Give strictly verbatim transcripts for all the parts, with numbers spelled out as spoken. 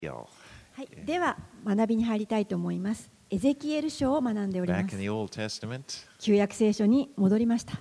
はい、 では学びに入りたいと思います。エゼキエル書を学んでおりま Back す in。the Old Testament. 旧約聖書に戻りました。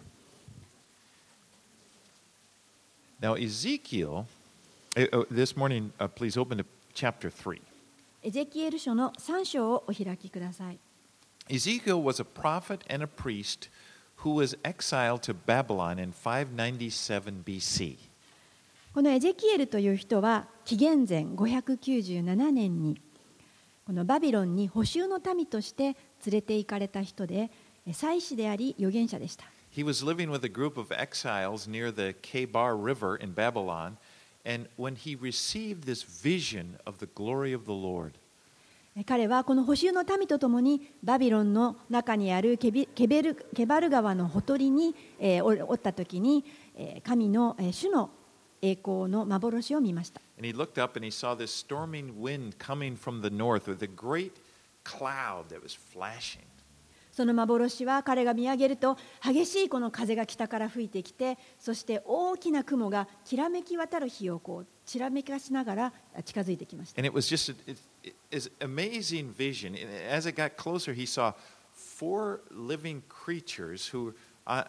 Now, Ezekiel, uh, uh, this morning, uh, please open to chapter three. エゼキエル書のさん章をお開きください。 Ezekiel was a prophet and a priest who was exiled to Babylon in five ninety-seven B C. このエゼキエルという人は紀元前ごひゃくきゅうじゅうななねんにこのバビロンに捕囚の民として連れて行かれた人で、祭司であり預言者でした。 He was living with a group of exiles near the Kebar River in Babylon, and when he received this vision of the glory of the Lord, 彼はこの捕囚の民とともにバビロンの中にあるケビケベルケバル川のほとりに、えー、おった時に、えー、神の、えー、主の栄光の幻を見ました。 and he looked up and he saw this storming wind coming from the north with a great cloud that was flashing. その幻は彼が見上げると激しいこの風が北から吹いてきて、そして大きな雲がきらめき渡る日をこうちらめかしながら近づいてきました。 And it was just a, it, it, it, amazing vision. And as it got closer, he saw four living creatures who, uh,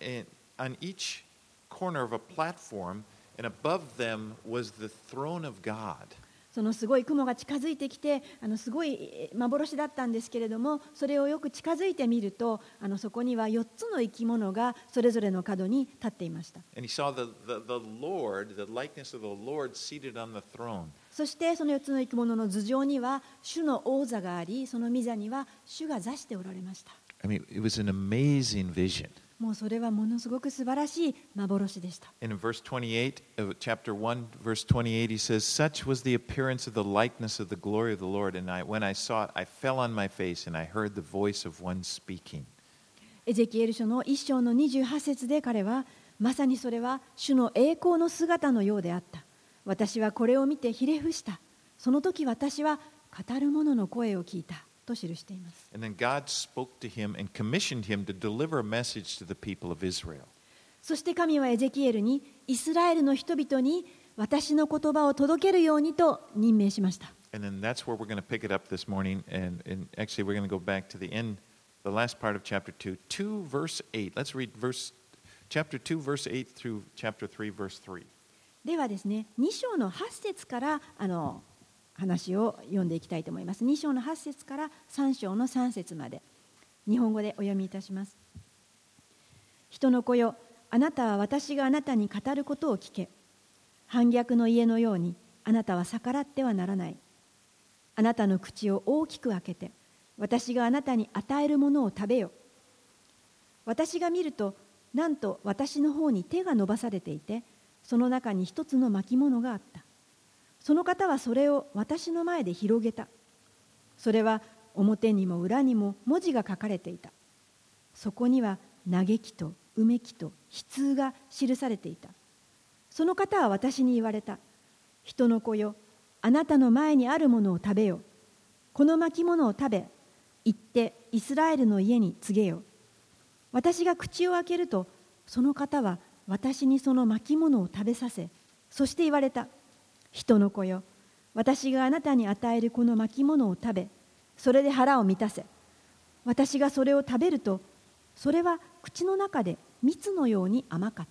on each corner of a platform, and above them was the throne of God. そのすごい雲が近づいてきて、あのすごい幻だったんですけれども、それをよく近づいてみると、あのそこにはよっつの生き物がそれぞれの角に立っていました。 And he saw the, the, the Lord, the likeness of the Lord seated on the throne. そしてそのよっつの生き物の頭上には主の王座があり、その御座には主が座しておられました。 I mean, it was an amazing vision. もうそれはものすごく素晴らしい幻でした。 And in verse twenty-eight of chapter one, verse twenty-eight, he says, "Such was the appearance of the likeness of the glory of the Lord, and I, when I saw it, I fell on my face, and I heard the voice of one speaking." エゼキエル書の一章のにじゅうはち節で彼は、まさにそれは主の栄光の姿のようであった。私はこれを見てひれ伏した。その時私は語る者の声を聞いた。と記しています。 And then God spoke to him and commissioned him to deliver a message to the people of Israel. そして神はエゼキエルにイスラエルの人々に私の言葉を届けるようにと任命しました。 And then that's where we're going to pick it up this morning. And, and actually, we're going to go back to the end, the last part of chapter two, two verse eight. Let's read verse chapter two, verse eight through chapter three, verse three. ではですね、に章のはち節からあの話を読んでいきたいと思います。に章のはち節からさん章のさん節まで日本語でお読みいたします。人の子よ、あなたは私があなたに語ることを聞け。反逆の家のようにあなたは逆らってはならない。あなたの口を大きく開けて私があなたに与えるものを食べよ。私が見るとなんと私の方に手が伸ばされていて、その中に一つの巻物があった。その方はそれを私の前で広げた。それは表にも裏にも文字が書かれていた。そこには嘆きとうめきと悲痛が記されていた。その方は私に言われた。人の子よ、あなたの前にあるものを食べよ。この巻物を食べ、行ってイスラエルの家に告げよ。私が口を開けると、その方は私にその巻物を食べさせ、そして言われた。人の子よ、私があなたに与えるこの巻物を食べ、それで腹を満たせ。私がそれを食べると、それは口の中で蜜のように甘かった。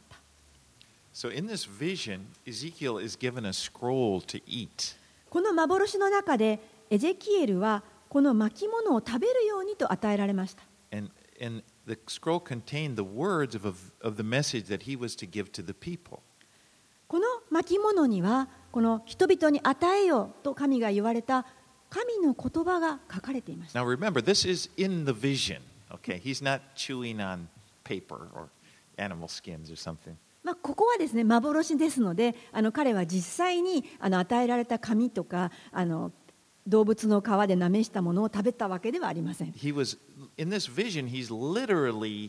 So in this vision, Ezekiel is given a scroll to eat. この幻の中で、エゼキエルはこの巻物を食べるようにと与えられました。 And, and the scroll contained the words of, of the message that he was to give to the people. この巻物には、この人々に与えよと神が言われた神の言葉が書かれていました。 Now remember, this is in the vision. Okay, he's not chewing on paper or animal skins or something. まあここはですね、幻ですので、あの彼は実際にあの与えられた紙とかあの動物の皮でなめしたものを食べたわけではありません。 He was in this vision. He's literally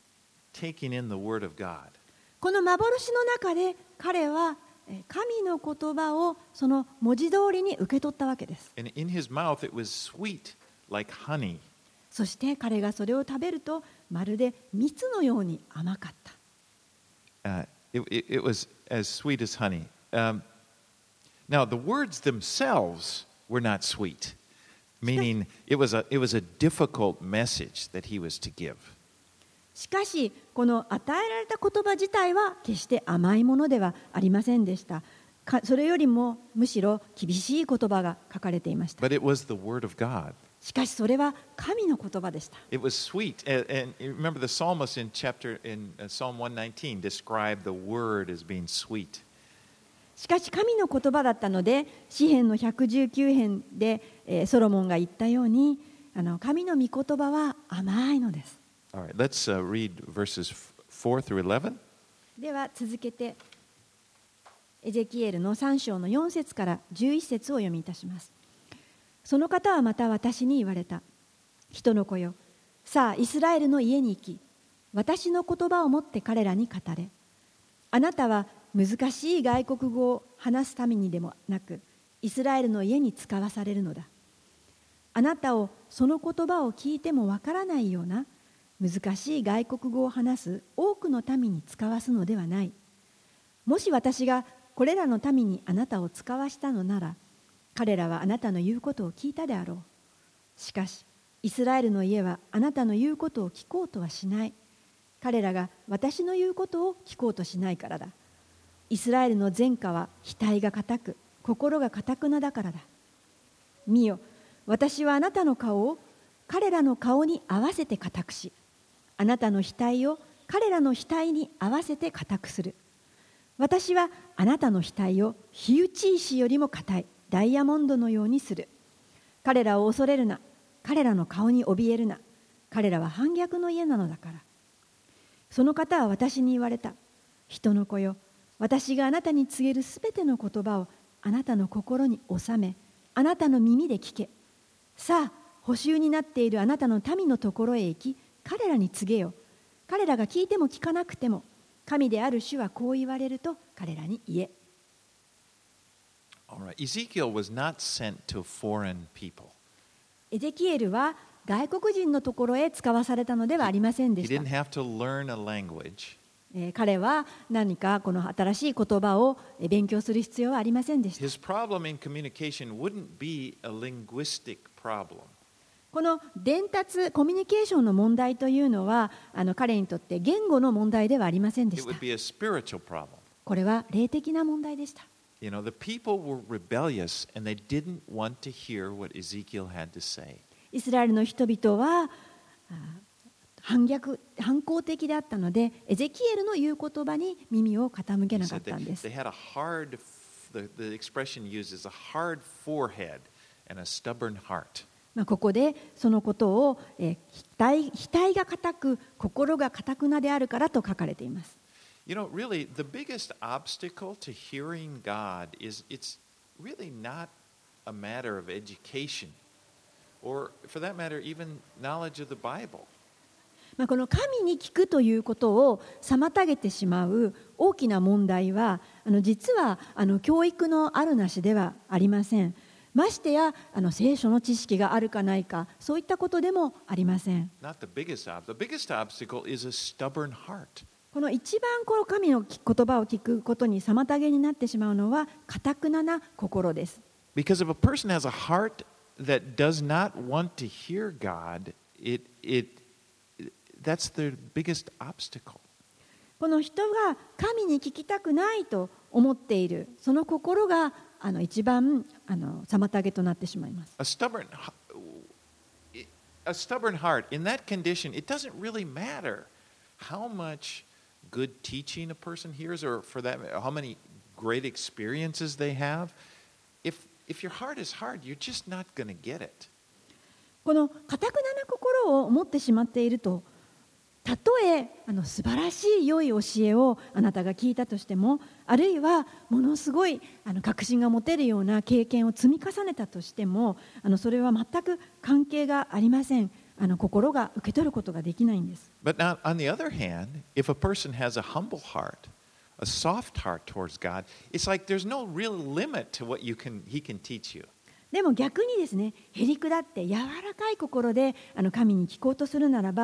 taking in the word of God. この幻の中で彼は神の言葉をその文字通りに受け取ったわけです。 And in his mouth it was sweet like honey. そして彼がそれを食べるとまるで蜜のように甘かった。 Uh, it, it, it was as sweet as honey. Um, Now, the words themselves were not sweet, meaning it was a, it was a difficult message that he was to give. しかしこの与えられた言葉自体は決して甘いものではありませんでした。かそれよりもむしろ厳しい言葉が書かれていました。 But it was the word of God. しかしそれは神の言葉でした。 It was sweet. And, and you remember the psalmist in chapter in Psalm one nineteen described the word as being sweet. しかし神の言葉だったので詩編のひゃくじゅうきゅう編で、えー、ソロモンが言ったようにあの神の御言葉は甘いのです。 All right, let's uh, read verses four through eleven. では続けてエゼキエルのさん章のよん節からじゅういち節を読みいたします。その方はまた私に言われた。人の子よ、さあイスラエルの家に行き、私の言葉を持って彼らに語れ。あなたは難しい外国語を話すためにでもなく、イスラエルの家に使わされるのだ。あなたをその言葉を聞いてもわからないような難しい外国語を話す多くの民に使わすのではない。もし私がこれらの民にあなたを使わしたのなら、彼らはあなたの言うことを聞いたであろう。しかし、イスラエルの家はあなたの言うことを聞こうとはしない。彼らが私の言うことを聞こうとしないからだ。イスラエルの前科は額が固く、心が固くなだからだ。見よ、私はあなたの顔を彼らの顔に合わせて固くし、あなたの額を彼らの額に合わせて固くする。私はあなたの額を火打ち石よりも固いダイヤモンドのようにする。彼らを恐れるな。彼らの顔に怯えるな。彼らは反逆の家なのだから。その方は私に言われた。人の子よ、私があなたに告げるすべての言葉をあなたの心に収め、あなたの耳で聞け。さあ、捕囚になっているあなたの民のところへ行き、彼らに告げよ。彼らが聞いても聞かなくても、神である主はこう言われると彼らに言え。 All right. Ezekiel was not sent to foreign people. エゼキエルは外国人のところへ使わされたのではありませんで He した。 didn't have to learn a language. えー彼は何かこの新しい言葉をえー勉強する必要はありませんでした。 His problem in communication wouldn't be a linguistic problem. この伝達、コミュニケーションの問題というのはあの彼にとって言語の問題ではありませんで It した。 would be a spiritual problem. これは霊的な問題でした。 You know, the people were rebellious and they didn't want to hear what Ezekiel had to say. イスラエルの人々はあ反逆、反抗的であったので、エゼキエルの言う言葉に耳を傾け He なかっ said たん they, です。 they had a hard, the, the expression used is a hard forehead and a stubborn heart. まあここでそのことを、えー、額、額が固く、心が固くなであるからと書かれています。 You know, really, the biggest obstacle to hearing God is it's really not a matter of education or, for that matter, even knowledge of the Bible. まあこの神に聞くということを妨げてしまう大きな問題は、あの実はあの教育のあるなしではありません。ましてやあの聖書の知識があるかないか、そういったことでもありません。 Not the biggest obstacle. The biggest obstacle is a stubborn heart. この一番この神の言葉を聞くことに妨げになってしまうのは堅くなな心です。 Because if a person has a heart that does not want to hear God, it, it, that's the biggest obstacle. この人が神に聞きたくないと思っているその心があの一番あの妨げとなってしまいます。 A stubborn, a stubborn heart, in that condition, it doesn't really matter how much good teaching a person hears, or for that, how many great experiences they have. If, if your heart is hard, you're just not going to get it. この堅くなな心を持ってしまっていると、たとえあの素晴らしい良い教えをあなたが聞いたとしても、あるいはものすごいあの確信が持てるような経験を積み重ねたとしても、あのそれは全く関係がありません。あの心が受け取ることができないんです。 But now, on the other hand, if a person has a humble heart, a soft heart towards God, it's like there's no real limit to what you can, He can teach you. でも逆にですね、へりくだって柔らかい心であの神に聞こうとするならば、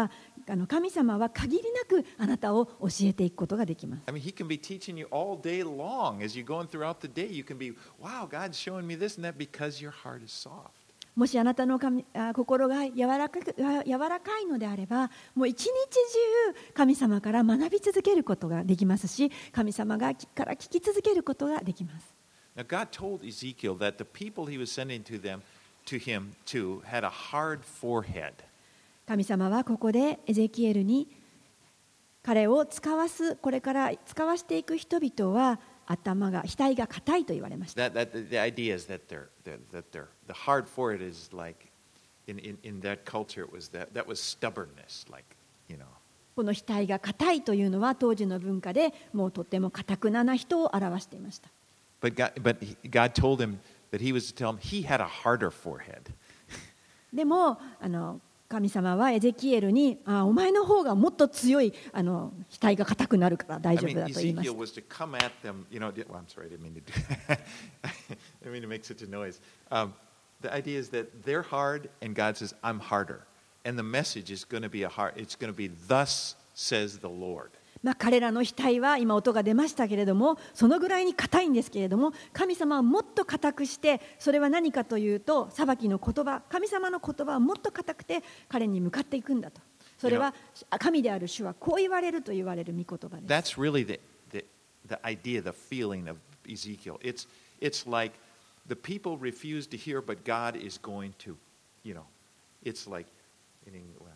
あの神様は限りなくあなたを教えていくことができます。 I mean, He can be teaching you all day long as you're going throughout the day. You can be, wow, God's showing me this and that because your heart is soft. もしあなたの神あ心が柔らかく柔らかいのであれば、もう一日中神様から学び続けることができますし、神様がから聞き続けることができます。 Now, God told Ezekiel that the people He was sending to them, to him, to, had a hard forehead. 神様はここでエゼキエルに彼を使わすこれから使わしていく人々は頭が額が硬いと言われました。 That, that, the idea is that, they're, that they're, the hard forehead is like, in, in, in that culture, it was that, that was stubbornness, like, you know. この額が硬いというのは当時の文化でもうとても堅くなな人を表していました。 But God, but God told him that He was to tell him he had a harder forehead. でもあの神様はエゼキエルにあお前の方がもっと強いあの額が硬くなるから大 I 丈 mean, 夫だと言いまし Ezekiel た。 was to come at them, you know, well, I'm sorry, I didn't mean to do I didn't mean to make such a noise. Um, the idea is that they're hard and God says, I'm harder. And the message is going to be a hard, it's going to be, thus says the Lord. まあ、彼らの額は今音が出ましたけれどもそのぐらいに硬いんですけれども神様はもっと硬くしてそれは何かというと裁きの言葉神様の言葉はもっと硬くて彼に向かっていくんだとそれは神である主はこう言われると言われる御言葉です。 That's really the, the, the idea, the feeling of Ezekiel. It's, it's like the people refuse to hear, but God is going to, you know, it's like in,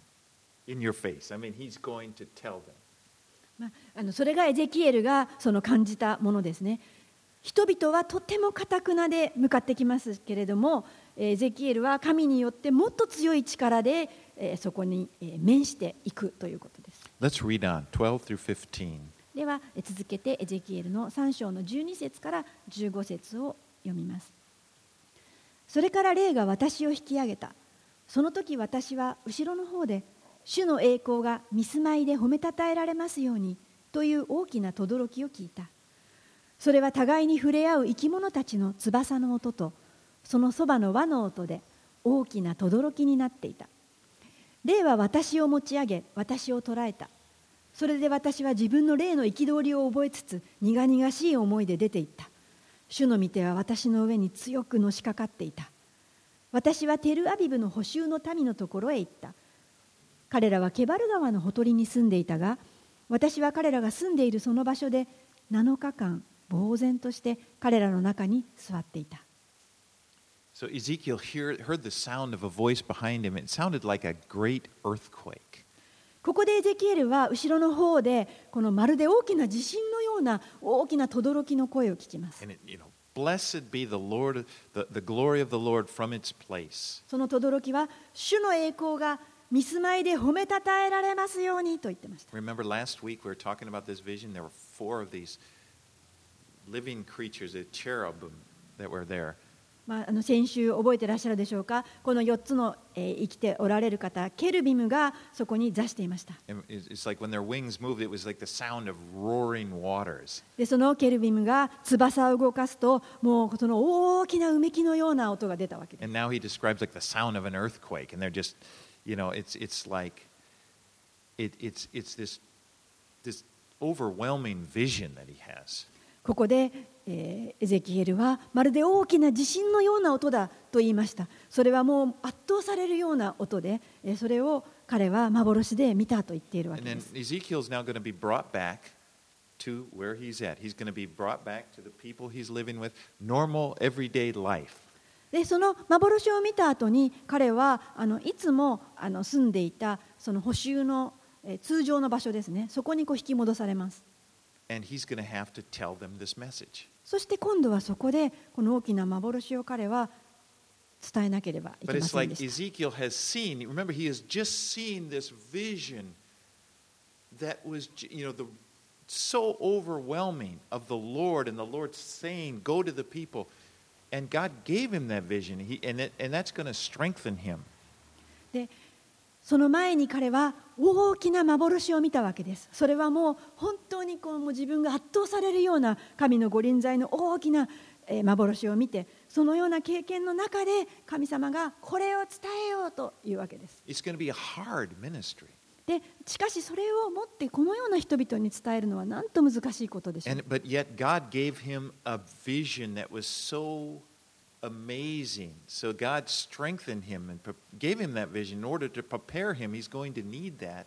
in your face. I mean, He's going to tell them. まあ、あのそれがエゼキエルがその感じたものですね。人々はとても堅くなで向かってきますけれどもエゼキエルは神によってもっと強い力で、えー、そこに、えー、面していくということです。 Let's read on, twelve through fifteen. では続けてエゼキエルのさん章のじゅうに節からじゅうご節を読みます。それから霊が私を引き上げた。その時私は後ろの方で主の栄光が御住まいで褒めたたえられますようにという大きな轟きを聞いた。それは互いに触れ合う生き物たちの翼の音とそのそばの輪の音で大きな轟きになっていた。霊は私を持ち上げ私を捉えた。それで私は自分の霊の憤りを覚えつつ苦々しい思いで出ていった。主の御手は私の上に強くのしかかっていた。私はテルアビブの捕囚の民のところへ行った。彼らはケバル川のほとりに住んでいたが、私は彼らが住んでいるその場所でなのかかん呆然として彼らの中に座っていた。 So Ezekiel hear, heard the sound of a voice behind him. It sounded like a great earthquake. ここでエゼキエルは後ろの方でこのまるで大きな地震のような大きな轟きの声を聞きます。 And it, you know, blessed be the Lord, the, the glory of the Lord from its place. その轟は主の栄光が御住まいで褒めたたえられますようにと言ってました。 Remember last week we were talking about this vision? There were four of these living creatures, the cherubim that were there. まあ、あの先週覚えていらっしゃるでしょうか。このよっつの、えー、生きておられる方、ケルビムがそこに座していました。 And it's like when their wings moved, it was like the sound of roaring waters. で、そのケルビムが翼を動かすと、もうその大きなうめきのような音が出たわけです。 And now he describes like the sound of an earthquake, and they're just, you know, it's it's like it, it's it's this this overwhelming vision that he has. ここで、えー、エゼキエルはまるで大きな地震のような音だと言いました。それはもう圧倒されるような音で、えー、それを彼は幻で見たと言っているわけです。 And then Ezekiel's now going to be brought back to where he's at. He's going to be brought back to the people he's living with, normal everyday life. でその幻を見た後に彼はあのいつもあの住んでいたその捕囚の、えー、通常の場所ですね。そこにこう引き戻されます。 And he's going to have to tell them this message. そして今度はそこでこの大きな幻を彼は伝えなければいけ But ま it's せん like でした。 Ezekiel has seen, remember, he has just seen this vision that was, you know, the, so overwhelming of the Lord, and the Lord saying, go to the people. And God gave him that vision, he, and, it, and that's going to strengthen him. でその前に彼は大きな幻を見たわけです。それはもう本当にこうもう自分が圧倒されるような神の御臨在の大きな幻を見て、そのような経験の中で神様がこれを伝えようというわけです。 It's going to be a hard ministry. でしかしそれを持ってこのような人々に伝えるのはなんと難しいことでしょう。 And, but yet God gave him a vision that was so amazing. So God strengthened him and pre- gave him that vision in order to prepare him. He's going to need that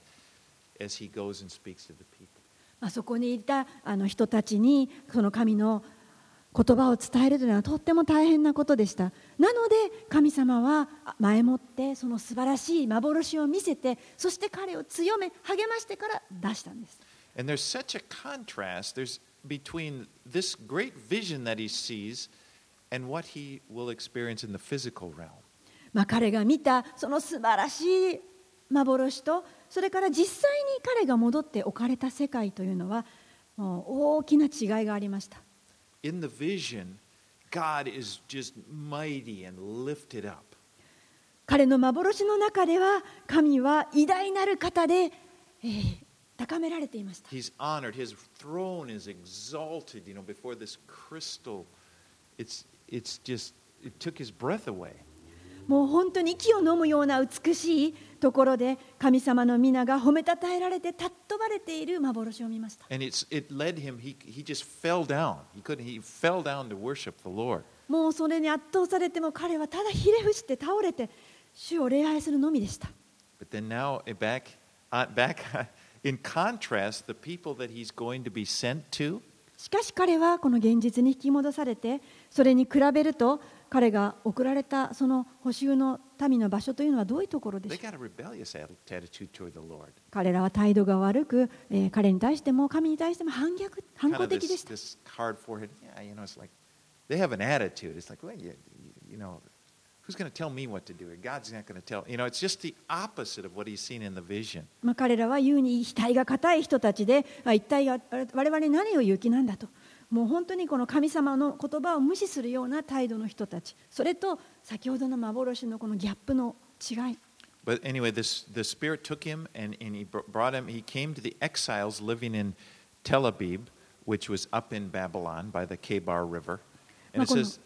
as he goes and speaks to the people. あそこにいたあの人たちにその神の言葉を伝えるというのはとっても大変なことでした。なので神様は前もってその素晴らしい幻を見せて、そして彼を強め励ましてから出したんです。 And there's such a contrast there's between this great vision that he sees and what he will experience in the physical realm. まあ彼が見たその素晴らしい幻と、それから実際に彼が戻って置かれた世界というのはもう大きな違いがありました。 In the vision, God is just mighty and lifted up. 彼の幻の中では神は偉大なる方で、えー、高められていました。 He's honored. His throne is exalted, you know, before this crystal. It's, it's just, it took his breath away. もう本当に息を飲むような美しいところで神様の皆が褒めたたえられて尊ばれている幻を見ました。 And it's, it led him, he, he just fell down. He couldn't, he fell down to worship the Lord. もうそれに圧倒されても彼はただひれ伏して倒れて主を礼拝するのみでした。 But then now, back, uh, back in contrast, the people that he's going to be sent to, しかし彼はこの現実に引き戻されて、それに比べると彼が送られたその捕囚の民の場所というのはどういうところでし they ょう。 got a rebellious attitude toward the Lord. 彼らは態度が悪く、えー彼に対しても神に対しても反逆反 Kind 抗 of 的で this, した。 this hard forehead. Yeah, you know, it's like they have an attitude. It's like, well, you, you know, who's going to tell me what to do? God's not going to tell. You know, it's just the opposite of what he's seen in the vision. まあ彼らは言うに額が固い人たちで、まあ一体我々に何を言う気なんだと、もう本当にこの神様の言葉を無視するような態度の人たち、それと先ほどの幻のこのギャップの違い。 But anyway, this the Spirit took him and, and he brought him. He came to the exiles living in Tel Aviv, which was up in Babylon by the Kebar River. And it says,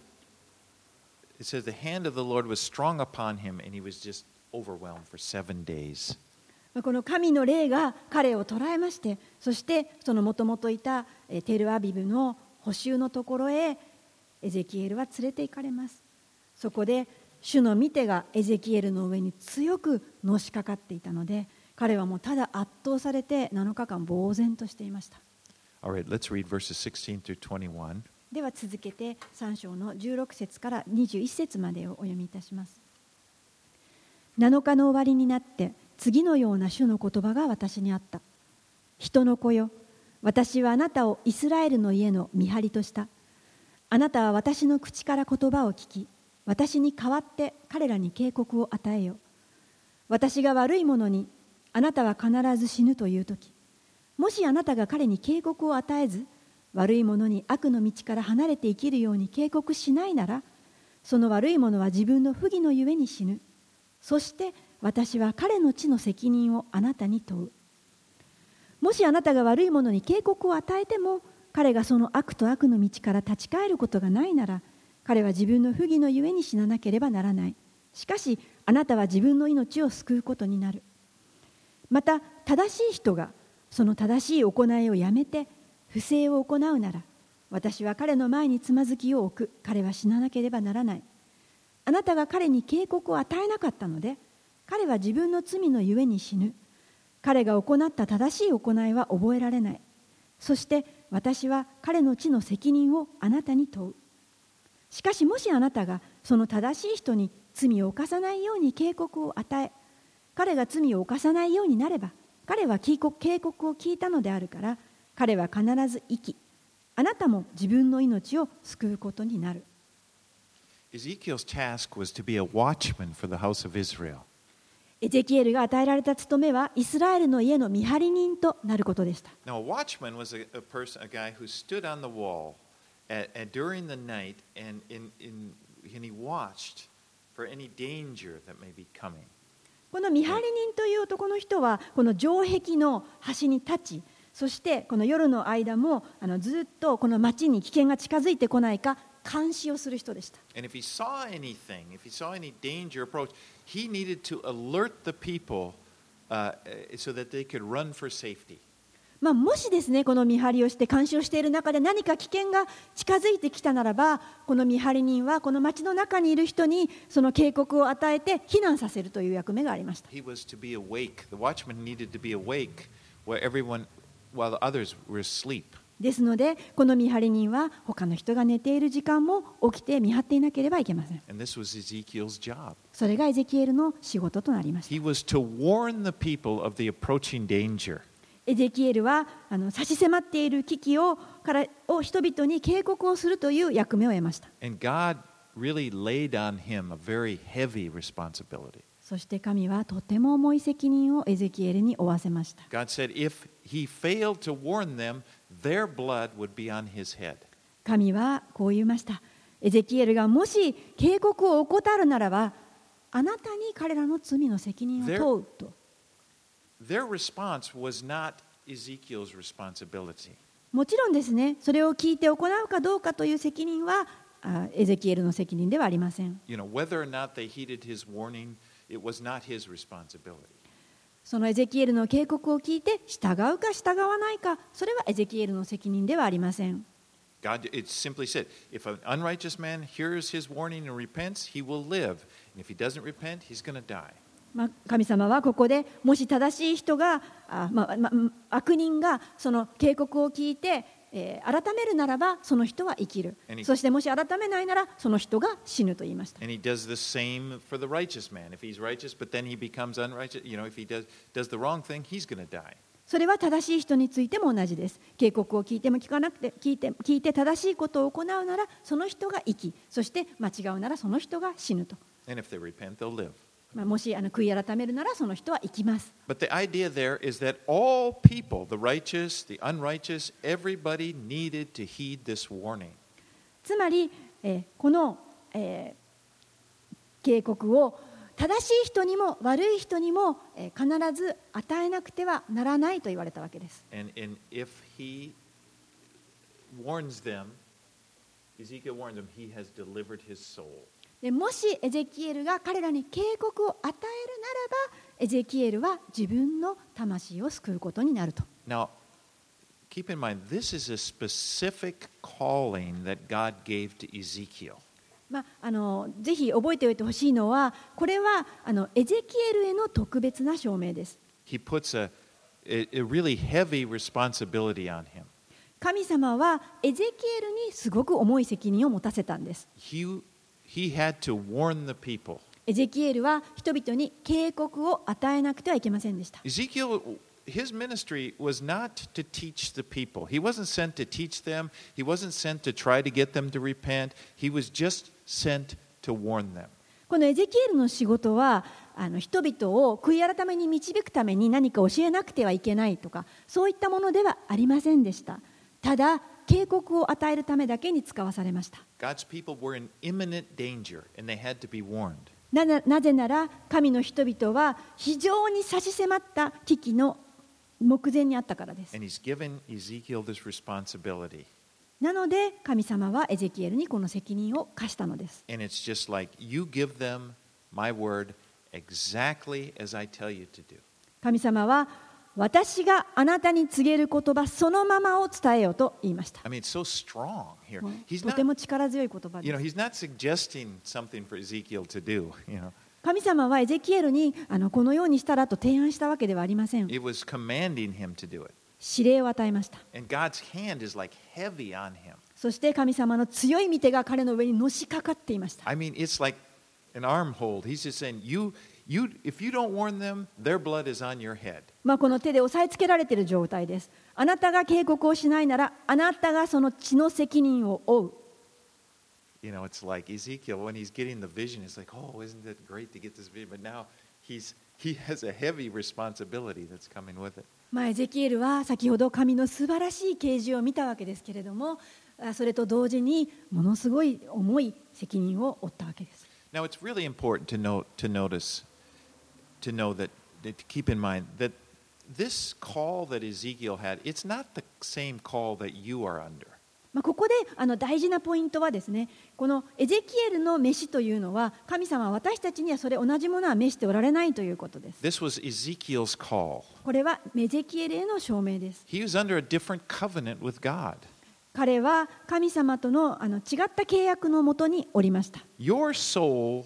it says the hand of the Lord was strong upon him, and he was just overwhelmed for seven days. この神の霊が彼を捉えまして、そしてそのもともといたテルアビブの捕囚のところへエゼキエルは連れて行かれます。そこで主の御手がエゼキエルの上に強くのしかかっていたので、彼はもうただ圧倒されてなのかかん呆然としていました。 All right, let's read verses sixteen through twenty-one. では続けてさん章のじゅうろく節からにじゅういち節までをお読みいたします。なのかの終わりになって次のような主の言葉が私にあった。人の子よ、私はあなたをイスラエルの家の見張りとした。あなたは私の口から言葉を聞き、私に代わって彼らに警告を与えよ。私が悪い者にあなたは必ず死ぬというとき、もしあなたが彼に警告を与えず、悪い者に悪の道から離れて生きるように警告しないなら、その悪い者は自分の不義のゆえに死ぬ。そして私は彼の地の責任をあなたに問う。もしあなたが悪い者に警告を与えても、彼がその悪と悪の道から立ち返ることがないなら、彼は自分の不義のゆえに死ななければならない。しかしあなたは自分の命を救うことになる。また正しい人がその正しい行いをやめて不正を行うなら、私は彼の前につまずきを置く。彼は死ななければならない。あなたが彼に警告を与えなかったので、彼は自分の罪のゆえに死ぬ。彼が行った正しい行いは覚えられない。そして私は彼の地の責任をあなたに問う。しかしもしあなたがその正しい人に罪を犯さないように警告を与え、彼が罪を犯さないようになれば、彼は警告を聞いたのであるから、彼は必ず生き、あなたも自分の命を救うことになる。 Ezekiel's task was to be a watchman for the house of Israel. エゼキエルが与えられた務めはイスラエルの家の見張り人となることでした。 Now, a watchman was a, a person, a guy who stood on the wall at, at, during the night and, in, in, and he watched for any danger that may be coming. この見張り人という男の人はこの城壁の端に立ち、そしてこの夜の間もあのずっとこの町に危険が近づいてこないか監視をする人でした。 And if he saw anything, if he saw any danger approach, he needed to alert the people uh, so that they could run for safety. まあ、もしですね、この見張りをして監視をしている中で何か危険が近づいてきたならば、この見張り人はこの町の中にいる人にその警告を与えて避難させるという役目がありました。 He was to be awake. The watchman needed to be awake while everyone, while the others were asleep. ですので、この見張り人は他の人が寝ている時間も起きて見張っていなければいけません。 And this was Ezekiel's job. それがエゼキエルの仕事となりました。 He was to warn the people of the approaching danger. エゼキエルはあの差し迫っている危機をからを人々に警告をするという役目を得ました。 And God really laid on him a very heavy responsibility. そして神はとても重い責任をエゼキエルに負わせました。 God said if he failed to warn them, their blood would be on his head. 神はこう言いました。エゼキエルがもし警告を怠るならば、あなたに彼らの罪の責任を問うと。 Their response was not Ezekiel's responsibility. もちろんですね、それを聞いて行うかどうかという責任はあエゼキエルの責任ではありません。 You know, whether or not they heeded his warning, it was not his responsibility. そのエゼキエルの警告を聞いて従うか従わないか、それはエゼキエルの責任ではありません。 God, it simply said, if an unrighteous man hears his warning and repents, he will live. And if he doesn't repent, he's going to die. まあ、神様はここでもし正しい人があ、まあまあ、悪人がその警告を聞いて、えー、改めるならばその人は生きる。そしてもし改めないならその人が死ぬと言いました。 And he does the same for the righteous man. If he's righteous, but then he becomes unrighteous, you know, if he does, does the wrong thing, he's going to die. それは正しい人についても同じです。警告を聞いても聞かなくて聞いて、聞いて正しいことを行うならその人が生き、そして間違うならその人が死ぬと。 And if they repent, they'll live. まあ、もしあの悔い改めるならその人は生きます。 But the idea there is that all people, the righteous, the unrighteous, everybody needed to heed this warning. つまり、えー、この、えー、警告を正しい人にも悪い人にも、えー、必ず与えなくてはならないと言われたわけです。 And, and if he warns them, Ezekiel warns them, he has delivered his soul. でもしエゼキエルが彼らに警告を与えるならば、エゼキエルは自分の魂を救うことになると。 Now, keep in mind, this is a specific calling that God gave to Ezekiel. まあ、あのぜひ覚えておいてほしいのは、これはあのエゼキエルへの特別な証明です。 He puts a, a, a really heavy responsibility on him. 神様はエゼキエルにすごく重い責任を持たせたんです。 He, he had to warn the people. エゼキエルは人々に警告を与えなくてはいけませんでした。 Ezekiel, his ministry was not to teach the people. He wasn't sent to teach them. He wasn't sent to try to get them to repent. He was just sent to warn them. このエゼキエルの仕事はあの人々を悔い改めに導くために何か教えなくてはいけないとか、そういったものではありませんでした。ただ警告を与えるためだけに使わされました。 God's people were in imminent danger and they had to be warned. な, なぜなら神の人々は非常に差し迫った危機の目前にあったからです。 And he's given Ezekiel this responsibility. なので神様はエゼキエルにこの責任を課したのです。 And it's just like you give them my word exactly as I tell you to do. 神様は私があなたに告げる言葉そのままを伝えようと言いました。 I mean, it's so strong here. もう He's とて not, も力強い言葉 you で know, す。 he's not suggesting something for Ezekiel to do. You know, 神様はエゼキエルにあのこのようにしたらと提案したわけではありません。 it was commanding him to do it. 指令を与えました。 And God's hand is like heavy on him. そして神様の強い御手が彼の上にのしかかっていました。 I mean, it's like an arm hold. He's just saying, you, you, if you don't warn them, their blood is on your head. まあこの手で押さえつけられている状態です。あなたが警告をしないなら、あなたがその血の責任を負う。 You know, it's like Ezekiel, when he's getting the vision, it's like, oh, isn't it great to get this vision? But now he's, he has a heavy responsibility that's coming with it. まあエゼキエルは先ほど神の素晴らしい啓示を見たわけですけれども、それと同時にものすごい重い責任を負ったわけです。 Now, it's really important to note, to notice, to know that, to keep in mind that this call that Ezekiel had, it's not the same call that you are under. まあ、ここであの大事なポイントはですね、このエゼキエルの召しというのは、神様は私たちにはそれ同じものは召しておられないということです。 This was Ezekiel's call. これはエゼキエルへの証明です。 He was under a different covenant with God. 彼は神様との、あの違った契約のもとにおりました。 Your soul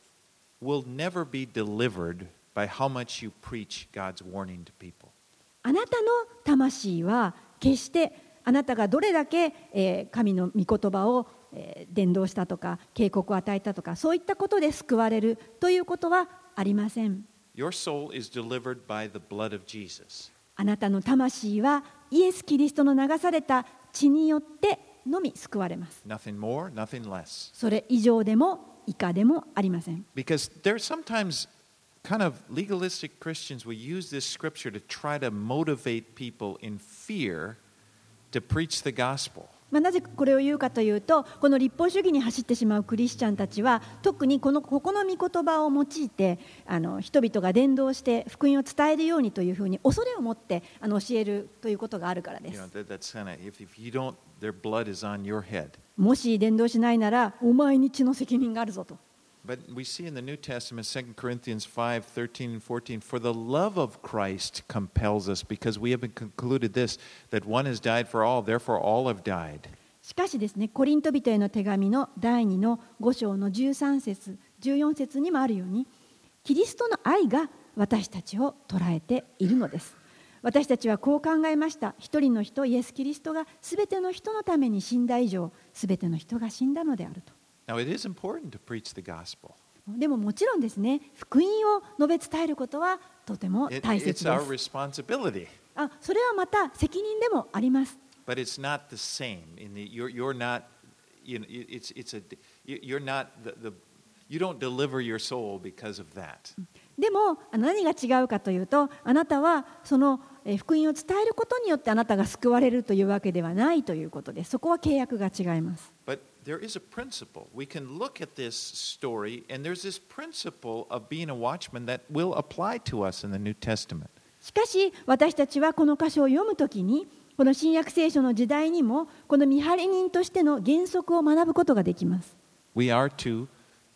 will never be delivered by how much you preach God's warning to people. あなたの魂は決してあなたがどれだけ、えー、神の御言葉を、えー、伝道したとか警告を与えたとか、そういったことで救われるということはありません。 Your soul is delivered by the blood of Jesus. あなたの魂はイエス・キリストの流された血によってのみ救われます。 Nothing more, nothing less. それ以上でも以下でもありません。 Because there are sometimes kind of legalistic Christians will use this scripture to try to motivate people in fear to preach the gospel. まあ、なぜこれを言うかというと、この立法主義に走ってしまうクリスチャンたちは、特にこのここの御言葉を用いてあの人々が伝道して福音を伝えるようにというふうに恐れを持ってあの教えるということがあるからで You know, す。 that, that's kind of, if, if you don't, their blood is on your head. もし伝道しないならお前に血の責任があるぞと。 But we see in the New Testament, Second Corinthians five, thirteen and fourteen, for the love of Christ compels us, because we have been concluded this, that one has died for all, therefore all have died. しかしですね、コリント人への手紙のだいにのご章のじゅうさん節、じゅうよん節にもあるように、キリストの愛が私たちを捉えているのです。私たちはこう考えました。一人の人、イエス・キリストがすべての人のために死んだ以上、すべての人が死んだのであると。 Now, it is important to preach the gospel. でももちろんですね、福音を述べ伝えることはとても It, 大 it's 切で our す。 responsibility. あ、それはまた責任でもあります。 But it's not the same. In the, you're, you're not, you know, it's, it's a, you're not the, the, you don't deliver your soul because of that. でも何が違うかというと、あなたはその福音を伝えることによってあなたが救われるというわけではないということです。そこは契約が違います。 But there is a principle. We can look at this story, and there's this principle of being a watchman that will apply to us in the New Testament. しかし私たちはこの箇所を読むときに、この新約聖書の時代にもこの見張り人としての原則を学ぶことができます。 We are to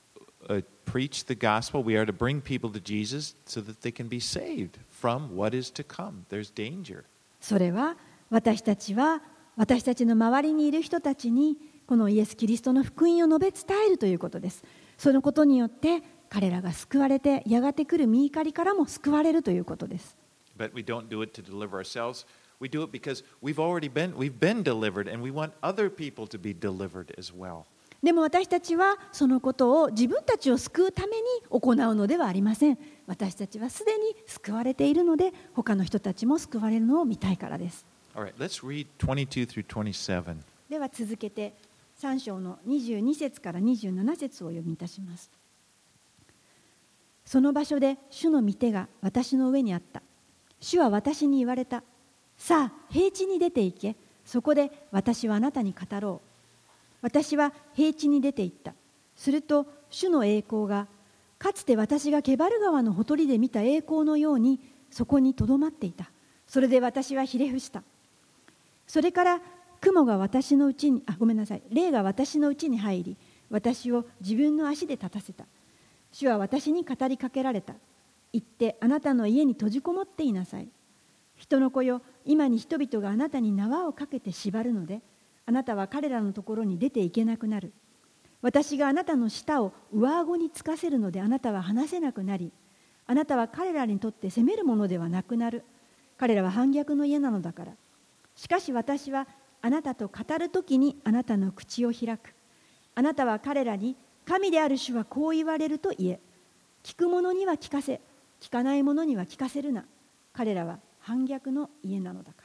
uh, preach the gospel. We are to bring people to Jesus so that they can be saved from what is to come. There's danger. それは私たちは私たちの周りにいる人たちにこのイエス・キリストの福音を述べ伝えるということです。そのことによって彼らが救われて、やがて来る御怒りからも救われるということです。 But we don't do it to deliver ourselves. We do it because we've already been, we've been delivered, and we want other people to be delivered as well. でも私たちはそのことを自分たちを救うために行うのではありません。私たちはすでに救われているので、他の人たちも救われるのを見たいからです。 All right, let's read twenty-two through twenty-seven. では続けてさん章のにじゅうに節からにじゅうなな節を読みいたします。その場所で主の御手が私の上にあった。主は私に言われた。さあ平地に出て行け。そこで私はあなたに語ろう。私は平地に出て行った。すると主の栄光がかつて私がケバル川のほとりで見た栄光のようにそこにとどまっていた。それで私はひれ伏した。それから雲が私のうちにあごめんなさい霊が私のうちに入り、私を自分の足で立たせた。主は私に語りかけられた。行ってあなたの家に閉じこもっていなさい。人の子よ、今に人々があなたに縄をかけて縛るので、あなたは彼らのところに出ていけなくなる。私があなたの舌を上顎につかせるので、あなたは話せなくなり、あなたは彼らにとって責めるものではなくなる。彼らは反逆の家なのだから。しかし私はあなたと語るときにあなたの口を開く。あなたは彼らに神である主はこう言われると言え。聞く者には聞かせ、聞かない者には聞かせるな。彼らは反逆の家なのだから。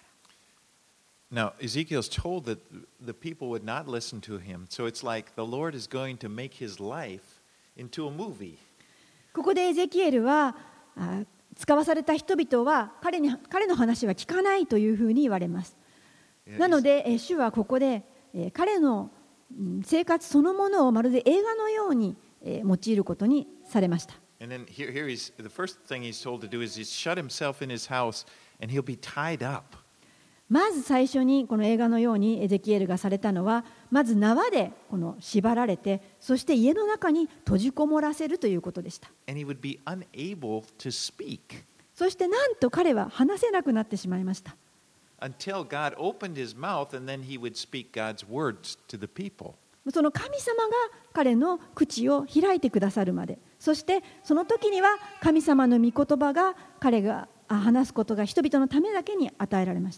Now, Ezekiel's told that the people would not listen to him, so it's like the Lord is going to make his life into a movie. ここでエゼキエルはあ使わされた人々は彼に彼の話は聞かないというふうに言われます。なので、え主はここで、え彼の生活そのものをまるで映画のように、え用いることにされました。 And then here, here he's, the first thing he's told to do is he's shut himself in his house and he'll be tied up. まず最初にこの映画のようにエゼキエルがされたのは、まず縄でこの縛られて、そして家の中に閉じこもらせるということでした。 And he would be unable to speak そしてなんと彼は話せなくなってしまいました。 until God opened his mouth and then he would speak God's words to the people. その神様が彼の口を開いてくださるまで、そしてその時には神様の御言葉が彼が話すことが人々のためだけに与えられました。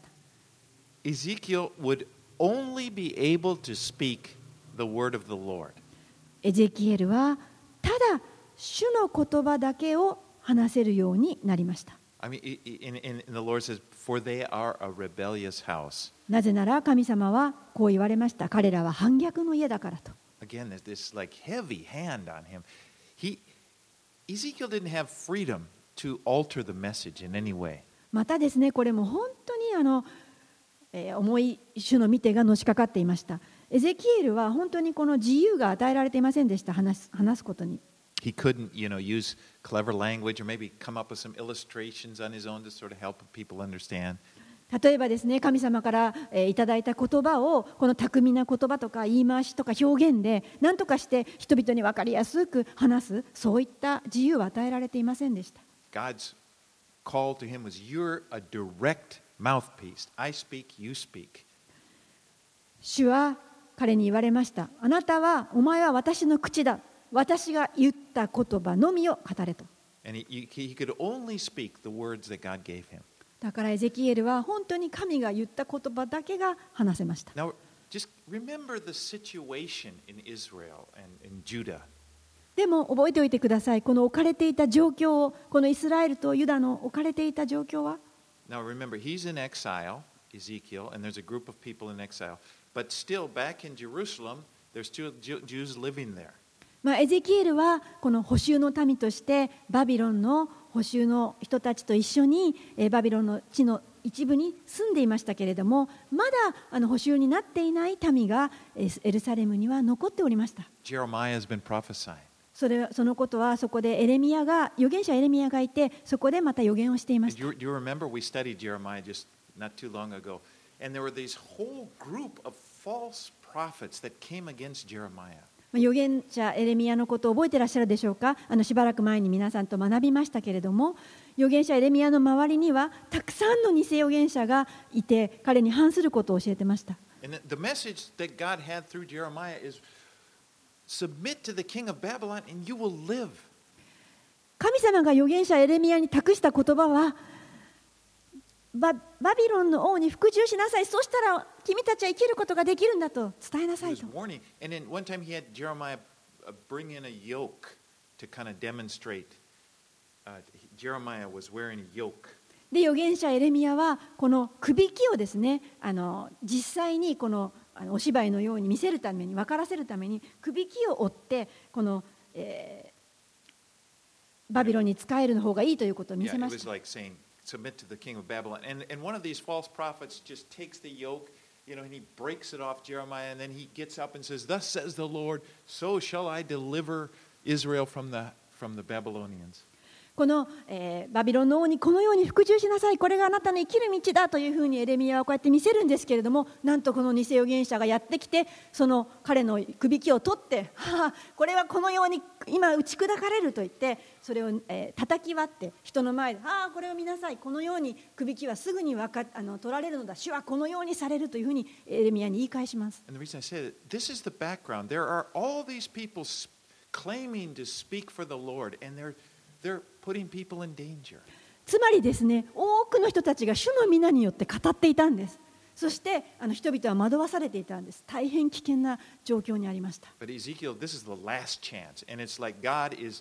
Ezekiel would only be able to speak the word of the Lord. エゼキエルはただ主の言葉だけを話せるようになりました。 I mean, in, in, in the Lord says, "For they are a rebellious house." なぜなら神様はこう言われました。彼らは反逆の家だからと。 Again, there's this like heavy hand on him. He, Ezekiel didn't have freedom to alter the message in any way. またですね、これも本当にあの、えー、重い主の御手がのしかかっていました。エゼキエルは本当にこの自由が与えられていませんでした。話す、話すことに。 He couldn't, you know, use clever language or maybe come up with some illustrations on his own to sort of help people understand. 例えばですね、神様から、えー、いただいた言葉をこの巧みな言葉とか言い回しとか表現で何とかして人々に分かりやすく話す、そういった自由は与えられていませんでした。 God's call to him was, "You're a direct mouthpiece. I speak, you speak." 主は彼に言われました。あなたは、お前は私の口だ。私が言った言葉のみを語れと。 And he, he could only speak the words that God gave him. だからエゼキエルは本当に神が言った言葉だけが話せました。 Now, just remember the situation in Israel and in Judah. でも覚えておいてください。この置かれていた状況を、このイスラエルとユダの置かれていた状況は。 Now remember, he's in exile, Ezekiel, and there's a group of people in exile. But still, back in Jerusalem, there's two Jews living there. まあ、エゼキエルはこの捕囚の民としてバビロンの捕囚の人たちと一緒にバビロンの地の一部に住んでいましたけれども、まだあの捕囚になっていない民がエルサレムには残っておりました。 Jeremiah has been prophesying. それそのことはそこでエレミヤが預言者エレミヤがいて、そこでまた預言をしていました。 Do you, do you remember we studied Jeremiah just not too long ago, and there were these whole group of false prophets that came against Jeremiah. 預言者エレミヤのことを覚えていらっしゃるでしょうか。あのしばらく前に皆さんと学びましたけれども、預言者エレミヤの周りにはたくさんの偽預言者がいて、彼に反することを教えてました。 And the message that God had through Jeremiah is, submit to the king of Babylon and you will live. 神様が預言者エレミヤに託した言葉は、バ, バビロンの王に服従しなさい。そうしたら君たちは生きることができるんだと伝えなさいと。 And then one time he had Jeremiah bring in a yoke to kind of demonstrate. Uh, Jeremiah was wearing a yoke. で、預言者エレミヤはこのくびきをですね、あの実際にこのあのお芝居のように見せるために、分からせるためにくびきを折ってこの、えー、バビロンに仕える方がいいということを見せました。 Yeah, submit to the king of Babylon. And, and one of these false prophets just takes the yoke, you know, and he breaks it off Jeremiah, and then he gets up and says, "Thus says the Lord, so shall I deliver Israel from the, from the Babylonians." この、えー、バビロンの王にこのように服従しなさい。これがあなたの生きる道だというふうにエレミヤはこうやって見せるんですけれども、なんとこの偽預言者がやってきて、その彼のくびきを取って、はあ、これはこのように今打ち砕かれると言って、それを、えー、叩き割って人の前で、ああこれを見なさい。このようにくびきはすぐにわかあの取られるのだ。主はこのようにされるというふうにエレミヤに言い返します。 And the reason I say that, this is the background. There are all these people claiming to speak for the Lord, and they're they're putting people in danger. つまりですね、多くの人たちが主の皆によって語っていたんです。そしてあの人々は惑わされていたんです。大変危険な状況にありました。 But Ezekiel, this is the last chance, and it's like God is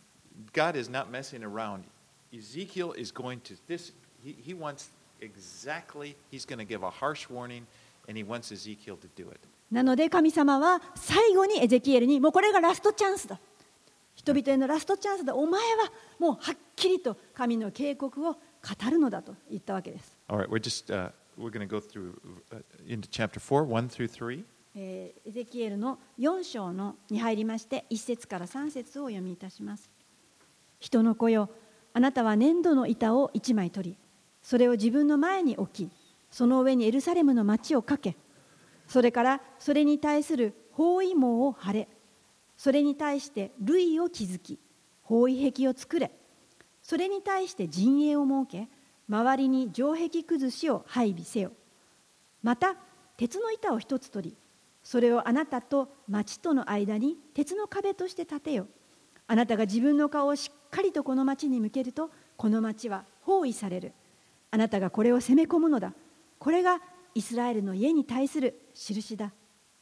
God is not messing around. Ezekiel is going to this. He, he wants exactly. He's going to give a harsh warning, and he wants Ezekiel to do it. なので神様は最後にエゼキエルに、もうこれがラストチャンスだ。人々へのラストチャンスだ。お前はもうはっきりと神の警告を語るのだと言ったわけです。 All right, we're just uh, we're going to go through uh, into chapter four, one through three. エゼキエルのよん章のに入りまして、いち節からさん節をお読みいたします。人の子よ、あなたは粘土の板を一枚取り、それを自分の前に置き、 その上にエルサレムの町をかけ、それからそれに対する包囲網を張れ、それに対して塁を築き、包囲壁を作れ、それに対して陣営を設け、周りに城壁崩しを配備せよ。また鉄の板を一つ取り、それをあなたと町との間に鉄の壁として立てよ。あなたが自分の顔をしっかりとこの町に向けると、この町は包囲される。あなたがこれを攻め込むのだ。これがイスラエルの家に対する印だ。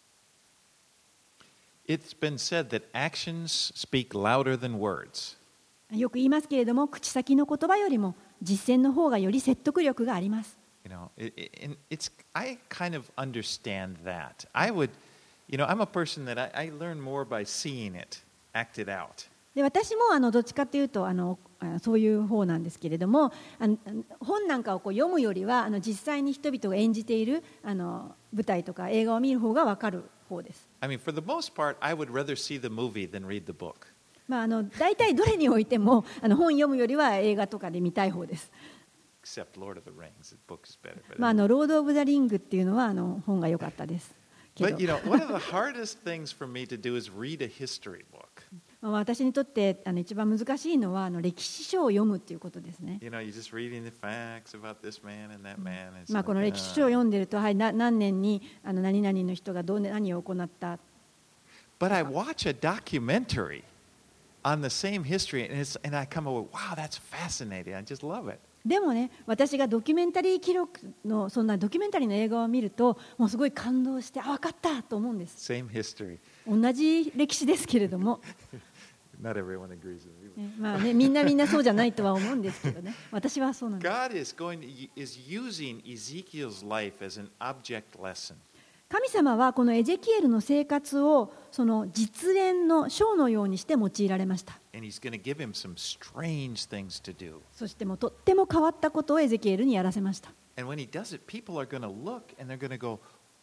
It's been said that actions speak louder than words. よく言いますけれども、口先の言葉よりも実践の方がより説得力があります。 You know, it, it, it's, I kind of understand that. I would, you know, I'm a person that I, I learn more by seeing it acted out. で私もあのどっちかというとあのそういう方なんですけれども、あの本なんかをこう読むよりはあの実際に人々が演じているあの舞台とか映画を見る方が分かる方です。 I mean, for the most part, I would rather see the movie than read the book. まああの大体どれにおいてもあの本読むよりは映画とかで見たい方です。 Except Lord of the Rings, the book is better. But, まああのロード・オブ・ザ・リングっていうのはあの本が良かったです。けど but you know, one of the hardest things for me to do is read a history book. 私にとってあの一番難しいのはあの歴史書を読むということですね。 You know, you're just reading the facts about this man and that man. And it's まあこの like, 歴史書を uh, 読んでると、はい、な何年にあの何々の人がどう何を行った。 But I watch a documentary on the same history, and, it's, and I come away, wow, that's fascinating. I just love it. でもね、私がドキュメンタリー記録のそんなドキュメンタリーの映画を見ると、もうすごい感動して、あ、分かったと思うんです。 Same history. 同じ歴史ですけれども、 Not everyone agrees with me. ね、まあね、みんなみんなそうじゃないとは思うんですけどね。私はそうなんです。 God is going to, is using Ezekiel's life as an object lesson. 神様はこのエゼキエルの生活をその実演のショーのようにして用いられました。 And he's going to give him some strange things to do. そしてもうとっても変わったことをエゼキエルにやらせました。 And when he does it, people are going to look and they're going to go,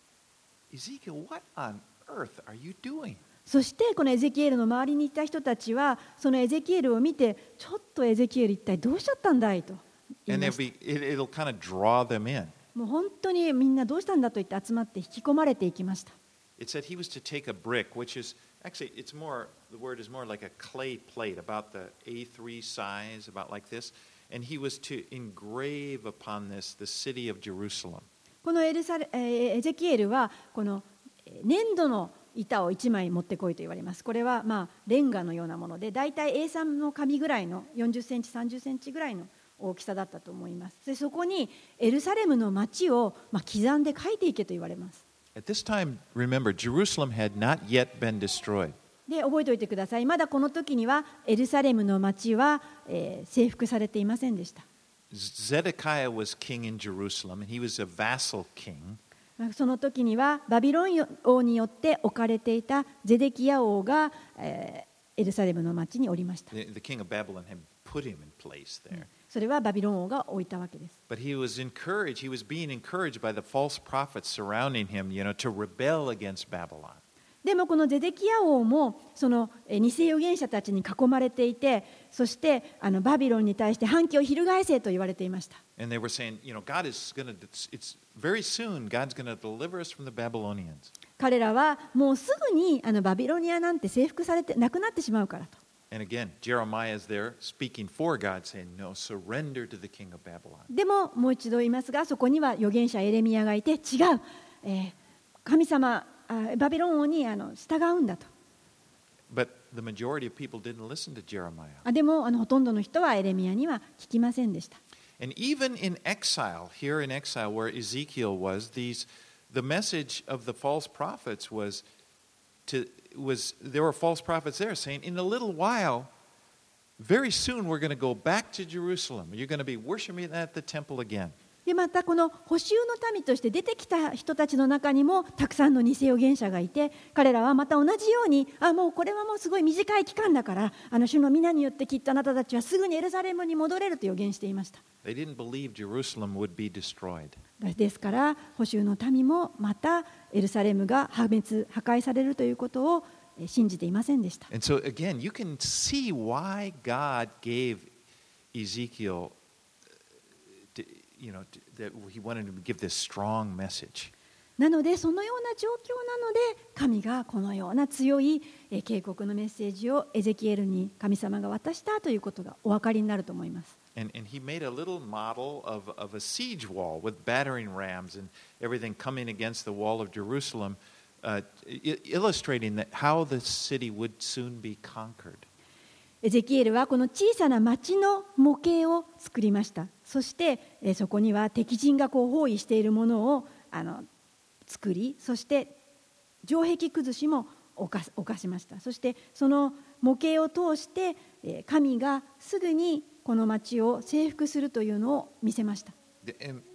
Ezekiel, what on earth are you doing? そしてこのエゼキエルの周りにいた人たちはそのエゼキエルを見て、ちょっとエゼキエル一体どうしちゃったんだいと言い And ま they'll した。 be, it, it'll kind of draw them in. もう本当にみんなどうしたんだと言って集まって引き込まれていきました。 It said he was to take a brick, which is actually, it's more, the word is more like a clay plate, about the A three size, about like this. And he was to engrave upon this the city of Jerusalem. このエルサレ、えーエゼキエルはこの粘土の板をいちまい持ってこいと言われます。これはまあレンガのようなもので、だいたい エースリー の紙ぐらいのよんじゅっセンチ、さんじゅっセンチぐらいの大きさだったと思います。でそこにエルサレムの町をまあ刻んで書いていけと言われます。 At this time, remember, Jerusalem had not yet been destroyed. で覚えておいてください。まだこの時にはエルサレムの町は、えー、征服されていませんでした。 Zedekiah was king in Jerusalem, and he was a vassal king. その時にはバビロン王によって置かれていたゼデキヤ王が、えー、エルサレムの町におりました。 The, the king of Babylon had put him in place there. それはバビロン王が置いたわけです。 But he was encouraged, he was being encouraged by the false prophets surrounding him, you know, to rebel against Babylon. でもこのゼデキヤ王もその偽預言者たちに囲まれていて、そしてあのバビロンに対して反旗を翻せと言われていました。 And they were saying, you know, God is going to, it's, it's very soon, God's going to deliver us from the Babylonians. 彼らはもうすぐにあのバビロニアなんて征服されてなくなってしまうからと。 And again, Jeremiah is there speaking for God, saying, no, surrender to the king of Babylon. でももう一度言いますが、そこには預言者エレミヤがいて、違う、えー、神様バビロン王にあの従うんだと。 But the majority of people didn't listen to Jeremiah. でもあのほとんどの人はエレミヤには聞きませんでした。 And even in exile, here in exile where Ezekiel was, these, the message of the false prophets was, to, was there were false prophets there saying, in a little while, very soon we're going to go back to Jerusalem. You're going to be worshiping at the temple again. でまたこの補修の民として出てきた人たちの中にもたくさんの偽預言者がいて、彼らはまた同じように、あもうこれはもうすごい短い期間だから、あの主の皆によってきっとあなたたちはすぐにエルサレムに戻れると予言していました。 They didn't believe Jerusalem would be destroyed. ですから補修の民もまたエルサレムが破滅破壊されるということを信じていませんでした。 And so again, you can see why God gave Ezekiel you know, that he wanted to give this strong message. なのでそのような状況なので神がこのような強い警告のメッセージをエゼキエルに神様が渡したということがお分かりになると思います。 And, and he made a little model of, of a siege wall with battering rams and everything coming against the wall of Jerusalem, uh, illustrating that how the city would soon be conquered. エゼキエルはこの小さな町の模型を作りました。そしてそこには敵陣がこう包囲しているものをあの作り、そして城壁崩しも犯しました。そしてその模型を通して神がすぐにこの町を征服するというのを見せました。 The,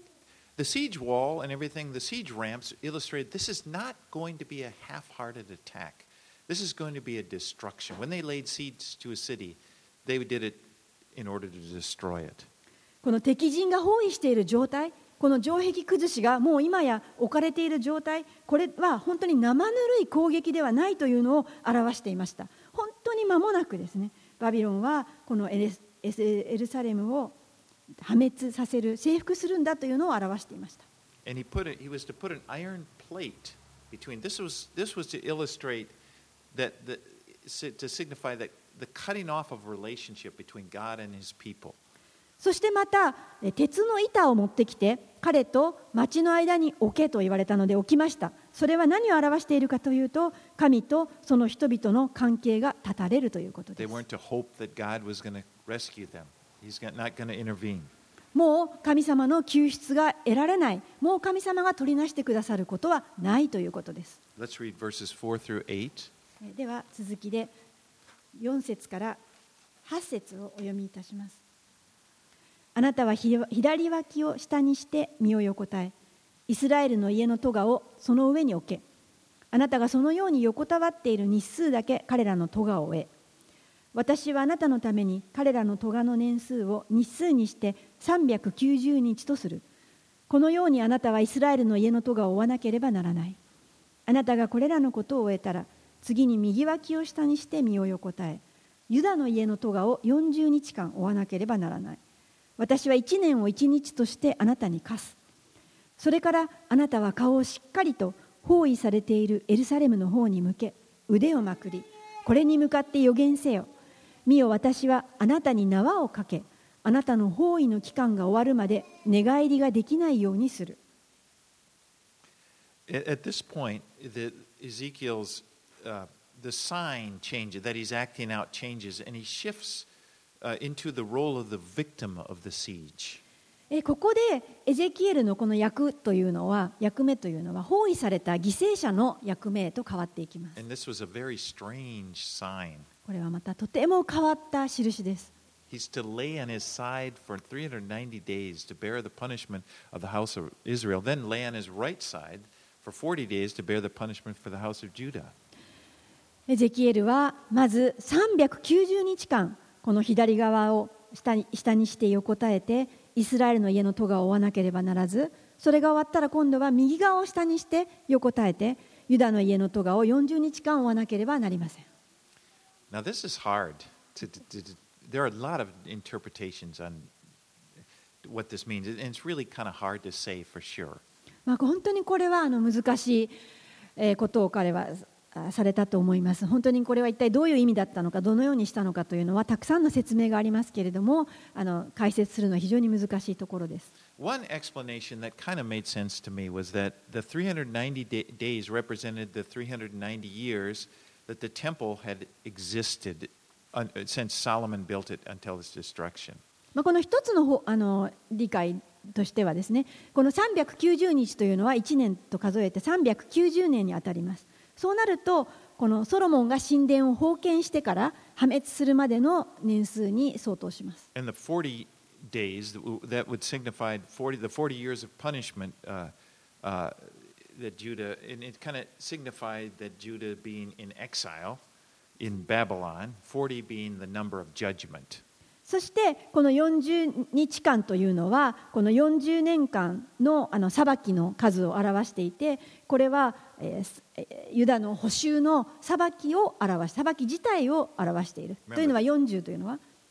the siege wall and everything, the siege ramps illustrate this is not going to be a half-hearted attack. This is going to be a destruction. When they laid siege to a city, they did it in order to destroy it. この敵陣が包囲している状態、この城壁崩しがもう今や置かれている状態、これは本当に生ぬるい攻撃ではないというのを表していました。本当に間もなくですね、バビロンはこのエレスエルサレムを破滅させる、征服するんだというのを表していました。 And he put it, he was to put an iron plate between. This was this was to illustrate that the, to signify that the cutting off of relationship between God and His people. そしてまた鉄の板を持ってきて彼と町の間に置けと言われたので置きました。それは何を表しているかというと、神とその人々の関係が断たれるということです。 They weren't to hope that God was going to rescue them. He's not going to intervene. もう神様の救出が得られない、もう神様が取りなしてくださることはないということです。 Let's read verses four through eight. では続きでよん節からはち節をお読みいたします。あなたは左脇を下にして身を横たえ、イスラエルの家の咎をその上に置け。あなたがそのように横たわっている日数だけ彼らの咎を負え。私はあなたのために彼らの咎の年数を日数にしてさんびゃくきゅうじゅうにちとする。このようにあなたはイスラエルの家の咎を負わなければならない。あなたがこれらのことを終えたら、次に右脇を下にして身を横たえ、ユダの家の咎をよんじゅうにちかん負わなければならない。私はいちねんをいちにちとしてあなたに課す。それからあなたは顔をしっかりと包囲されているエルサレムの方に向け、腕をまくり、これに向かって予言せよ。見よ、私はあなたに縄をかけ、あなたの包囲の期間が終わるまで寝返りができないようにする。 At this point, the Ezekiel's uh, the sign changes that he's acting out changes, and he shifts uh, into the role of the victim of the siege. ここでエゼキエルのこの役というのは、役目というのは包囲された犠牲者の役目へと変わっていきます。 And this was a very strange sign. これはまたとても変わった印です。 He's to lay on his side for three hundred ninety days to bear the punishment of the house of Israel, then lay on his right side for forty days to bear the punishment for the house of Judah. エゼキエルはまずさんびゃくきゅうじゅうにちかんこの左側を下に、下にして横たえてイスラエルの家の咎を負わなければならず、それが終わったら今度は右側を下にして横たえてユダの家の咎をよんじゅうにちかん負わなければなりません。 Now this is hard. To, to, to, there are a lot of interpretations on what this means, and it's really kind of hard to say for sure. まあ本当にこれはあの難しいことを彼はされたと思います。本当にこれは一体どういう意味だったのか、どのようにしたのかというのはたくさんの説明がありますけれども、あの解説するのは非常に難しいところです。 One explanation that kind of made sense to me was that the three hundred ninety day, days represented the three hundred ninety years that the temple had existed since Solomon built it until its destruction. まあこの一つのあの理解としてはですね、このさんびゃくきゅうじゅうにちというのはいちねんと数えてさんびゃくきゅうじゅうねんにあたります。そうなるとこのソロモンが神殿を封建してから破滅するまでの年数に相当します。 And the forty days that would signify forty the forty years of punishment uh, uh, that Judah, and it kind of signified that Judah being in exile in Babylon, forty being the number of judgment. そしてこのよんじゅうにちかんというのはこのよんじゅうねんかんのあの裁きの数を表していて、これは、えー、ユダの捕囚の裁きを表し、裁き自体を表しているというのはよんじゅうというのは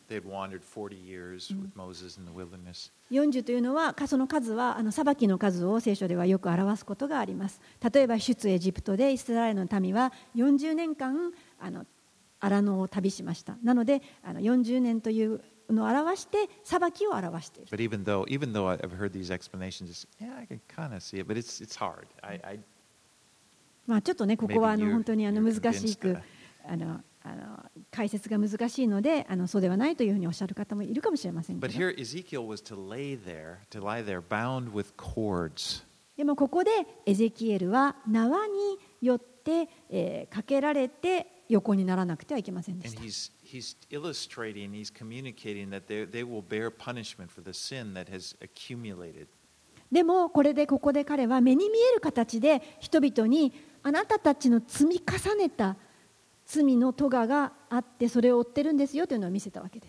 They had wandered forty years with Moses in the wilderness. よんじゅうというのは、その数はあの裁きの数を聖書ではよく表すことがあります。例えば出エジプトでイスラエルの民はよんじゅうねんかんあの荒野を旅しました。なのであのよんじゅうねんというのを表して裁きを表している。 But even though, even though I've heard these explanations, yeah, I can kind of see it, but it's it's hard. I, I まあちょっとね、ここはあの Maybe you're- 本当にあの you're 難し convinced く that I- あのあの解説が難しいので、あのそうではないというふうにおっしゃる方もいるかもしれませんけ But ど。 here Ezekiel was to lay there, to lie there, bound with cords. でもここでエゼキエルは縄によって、えー、かけられて横にならなくてはいけませんでし And た。 he's he's illustrating, he's communicating that they they will bear punishment for the sin that has accumulated. でもこれでここで彼は目に見える形で人々にあなたたちの積み重ねた罪の咎があってそれを負ってるんですよというのを見せたわけです。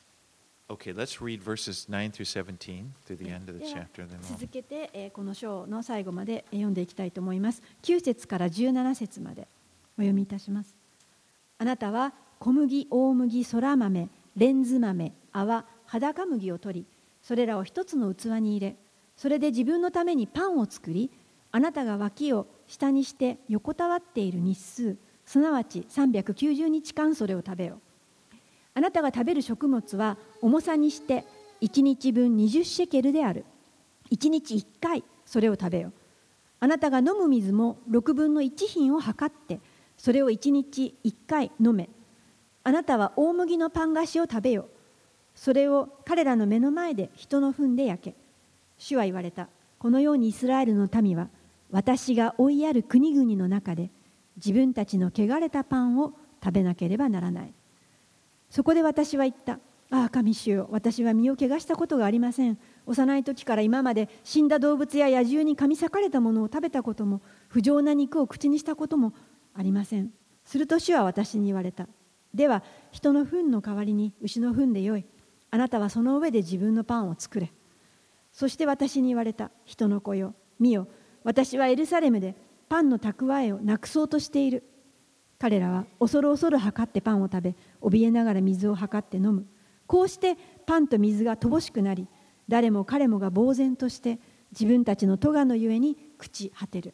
Okay, let's read verses nine through seventeen through the end of the では chapter. Then we'll... 続けて、えーこの章の最後までえー読んでいきたいと思います。きゅう節からじゅうなな節までお読みいたします。あなたは小麦、大麦、そら豆、レンズ豆、泡、裸麦を取り、それらを一つの器に入れ、それで自分のためにパンを作り、あなたが脇を下にして横たわっている日数、すなわちさんびゃくきゅうじゅうにちかんそれを食べよ。あなたが食べる食物は重さにしていちにちぶんにじゅうシェケルである。いちにちいっかいそれを食べよ。あなたが飲む水もろくぶんのいち品を測って、それをいちにちいっかい飲め。あなたは大麦のパン菓子を食べよ。それを彼らの目の前で人の糞で焼け。主は言われた。このようにイスラエルの民は私が追いやる国々の中で自分たちの汚れたパンを食べなければならない。そこで私は言った。ああ、神主よ、私は身を汚したことがありません。幼い時から今まで死んだ動物や野獣に噛み裂かれたものを食べたことも、不浄な肉を口にしたこともありません。すると主は私に言われた。では、人の糞の代わりに牛の糞でよい。あなたはその上で自分のパンを作れ。そして私に言われた。人の子よ、見よ、私はエルサレムでパンの蓄えをなくそうとしている。彼らは恐る恐る測ってパンを食べ、怯えながら水を測って飲む。こうしてパンと水が乏しくなり、誰も彼もが呆然として自分たちの咎のゆえに朽ち果てる。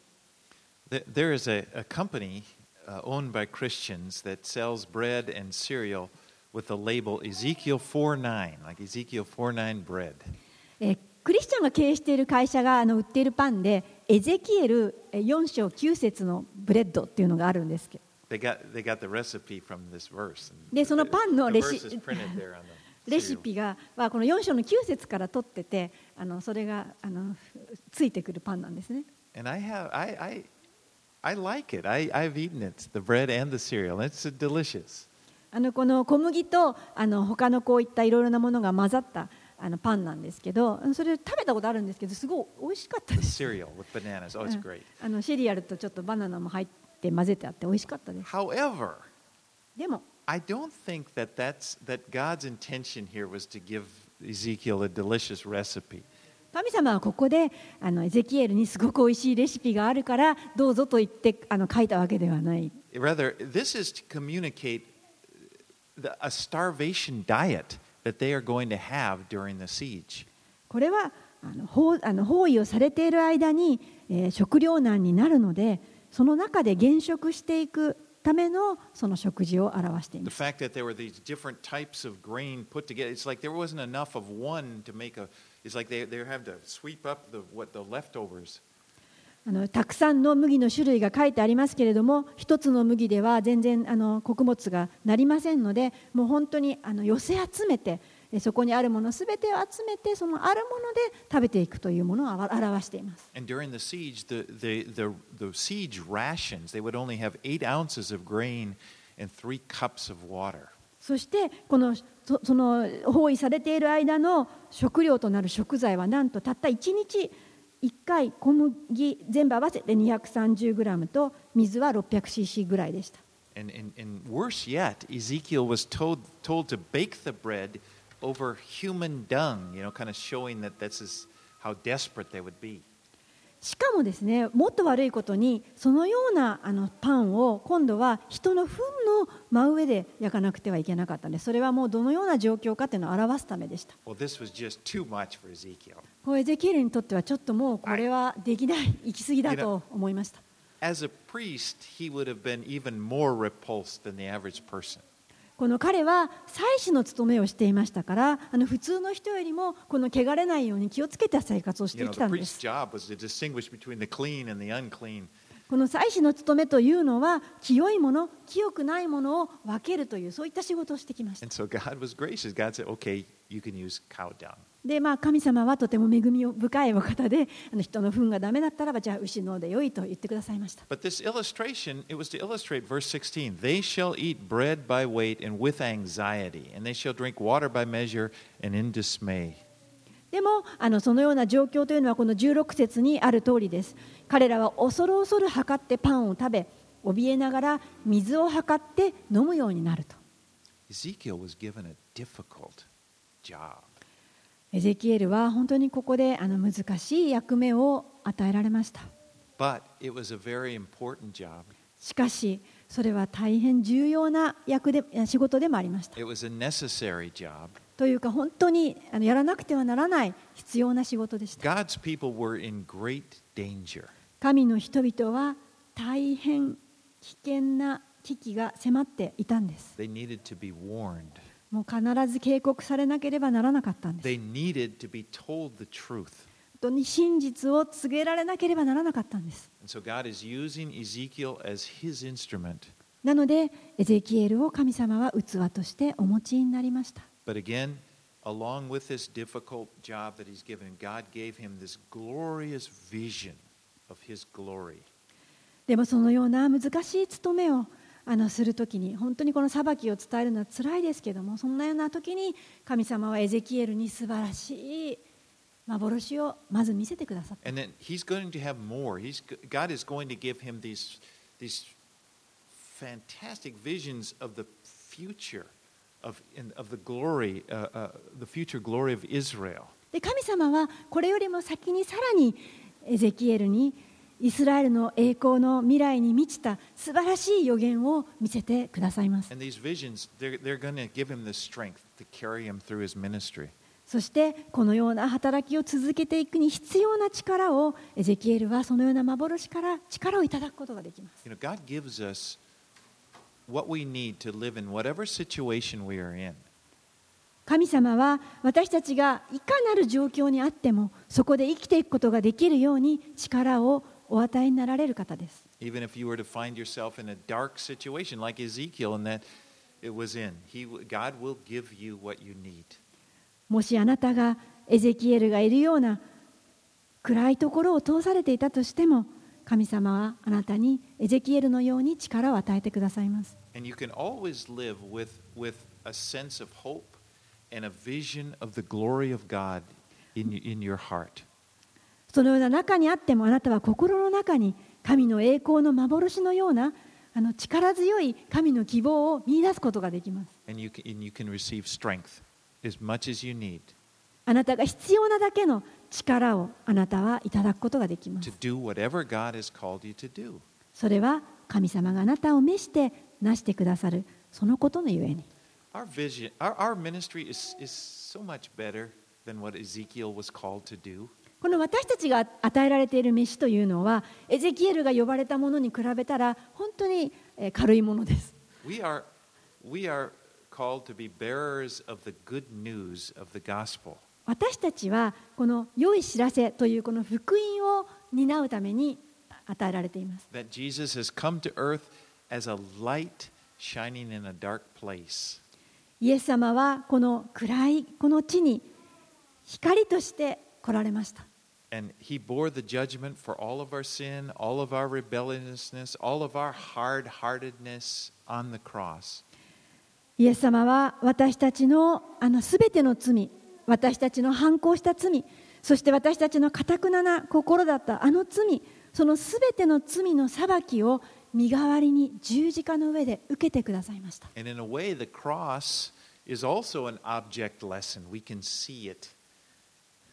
There is a, a company uh, owned by Christians that sells bread and cereal with the label Ezekiel four nine, like Ezekiel four nine bread. えークリスチャンが経営している会社があの売っているパンで、エゼキエルよん章きゅう節のブレッドっていうのがあるんですけど、 They got they got the recipe from this verse. でそのパンの The レ verse シ is printed there on the レシ cereal. ピが、まあ、このよん章のきゅう節から取ってて、あのそれがあのついてくるパンなんですね。 And I have I I I like it. I I've eaten it, the bread and the cereal. It's delicious. あのこの小麦とあの他のこういったいろいろなものが混ざったあのパンなんですけど、それ食べたことあるんですけど、すごい美味しかったで The す。 cereal with bananas. Oh, it's great. あのシリアルとちょっとバナナも入って混ぜてあって美味しかったです。 However, でも I don't think that that's that God's intention here was to give Ezekiel a delicious recipe. 神様はここであのエゼキエルにすごく美味しいレシピがあるからどうぞと言ってあの書いたわけではない。 Rather, this is to communicate the, a starvation diet that they are going to have during the siege. これはあの包あの包囲をされている間に、えー食糧難になるので、その中で減食していくためのその食事を表してい The ます。 fact that there were these different types of grain put together, it's like there wasn't enough of one to make a. It's like they they have to sweep up the what the leftovers. あのたくさんの麦の種類が書いてありますけれども、一つの麦では全然あの穀物がなりませんので、もう本当にあの寄せ集めて、えそこにあるものすべてを集めて、そのあるもので食べていくというものをあわ表しています。 And during the siege, the the the the siege rations they would only have eight ounces of grain and three cups of water. そしてこのそその包囲されている間の食料となる食材はなんとたったいちにちいっかい小麦全部合わせて にひゃくさんじゅうグラム と水は ろっぴゃくシーシー ぐらいでした。 And, and, and worse yet, Ezekiel was told, told to bake the bread over human dung, you know, kind of showing that this is how desperate they would be. しかもですね、もっと悪いことにそのようなあのパンを今度は人の糞の真上で焼かなくてはいけなかったんです。それはもうどのような状況かというのを表すためでした。 Well, this was just too much for Ezekiel. こうエゼキエルにとってはちょっともうこれはできない、行き過ぎだと思いました。 As a priest, he would have been even more repulsed than the average person. この彼は祭司の務めをしていましたから、あの普通の人よりもこの汚れないように気をつけた生活をして You know, き the たんで priest's す。 job was to distinguish between the clean and the unclean. この祭司の務めというのは、清いもの、清くないものを分けるという、そういった仕事をしてきました。 And so God was gracious. God said, okay, you can use cow dung. で、まあ、神様はとても恵み深いお方で、あの人の糞がダメだったらば、じゃあ牛のでよいと言ってくださいました。 But this illustration, it was to illustrate verse sixteen. They shall eat bread by weight and with anxiety, and they shall drink water by measure and in dismay. でもあのそのような状況というのはこのじゅうろく節にある通りです。彼らは恐る恐る測ってパンを食べ、怯えながら水を測って飲むようになると。 Ezekiel was given a difficult job. エゼキエルは本当にここであの難しい役目を与えられました。 But it was a very important job. しかしそれは大変重要な役で仕事でもありました。 It was a necessary job. というか本当にあのやらなくてはならない必要な仕事でした。 God's people were in great danger. 神の人々は大変危険な危機が迫っていたんです。 They needed to be warned. もう必ず警告されなければならなかったんです。 They needed to be told the truth. 本当に真実を告げられなければならなかったんです。 And so God is using Ezekiel as his instrument. なのでエゼキエルを神様は器としてお持ちになりました。 But again, along with this difficult job that he's given, God gave him this glorious vision of his glory. でもそのような難しい務めをあのするときに、本当にこの裁きを伝えるのは辛いですけども、そんなようなときに神様はエゼキエルに素晴らしい幻をまず見せてくださった。 And then he's going to have more. He's, God is going to give him these, these fantastic visions of the future, of, of the glory, uh, uh, the future glory of Israel. で神様はこれよりも先にさらにエゼキエルにイスラエルの栄光の未来に満ちた素晴らしい予言を見せてくださいます。 And these visions, they're, they're going to give him the strength to carry him through his ministry. そしてこのような働きを続けていくに必要な力をエゼキエルはそのような幻から力をいただくことができます。 You know, God gives us what we need to live in whatever situation we are in. 神様は私たちがいかなる状況にあってもそこで生きていくことができるように力をお与えになられる方です。 Even if you were to find yourself in a dark situation like Ezekiel and that it was in, he, God will give you what you need. もしあなたがエゼキエルがいるような暗いところを通されていたとしても、神様はあなたにエゼキエルのように力を与えてくださいます。 And you can always live with, with a sense of hope and a vision of the glory of God in, in your heart. そのような中にあってもあなたは心の中に神の栄光の幻のようなあの力強い神の希望を見出すことができます。 And you can, and you can receive strength as much as you need あなたが必要なだけの力をあなたはいただくことができま to す。 do whatever God has called you to do. それは神様があなたを召してなしてくださるそのことのゆえに。 Our vision, our, our ministry is, is so much better than what Ezekiel was called to do. この私たちが与えられている飯というのはエゼキエルが呼ばれたものに比べたら本当に軽いものです。 We are, we are called to be bearers of the good news of the gospel. 私たちはこの良い知らせというこの福音を担うために与えられています。 That Jesus has come to earth as a light shining in a dark place. イエス様はこの暗いこの地に光として来られました。 And he bore the judgment for all of our sin, all of our rebelliousness, all of our hard-heartedness on the cross. イエス様は私たちのあのすべての罪、私たちの反抗した罪、そして私たちの堅なな心だったあの罪、そのすべての罪の裁きを身代わりに十字架の上で受けてくださいました。 And in a way, the cross is also an object lesson. We can see it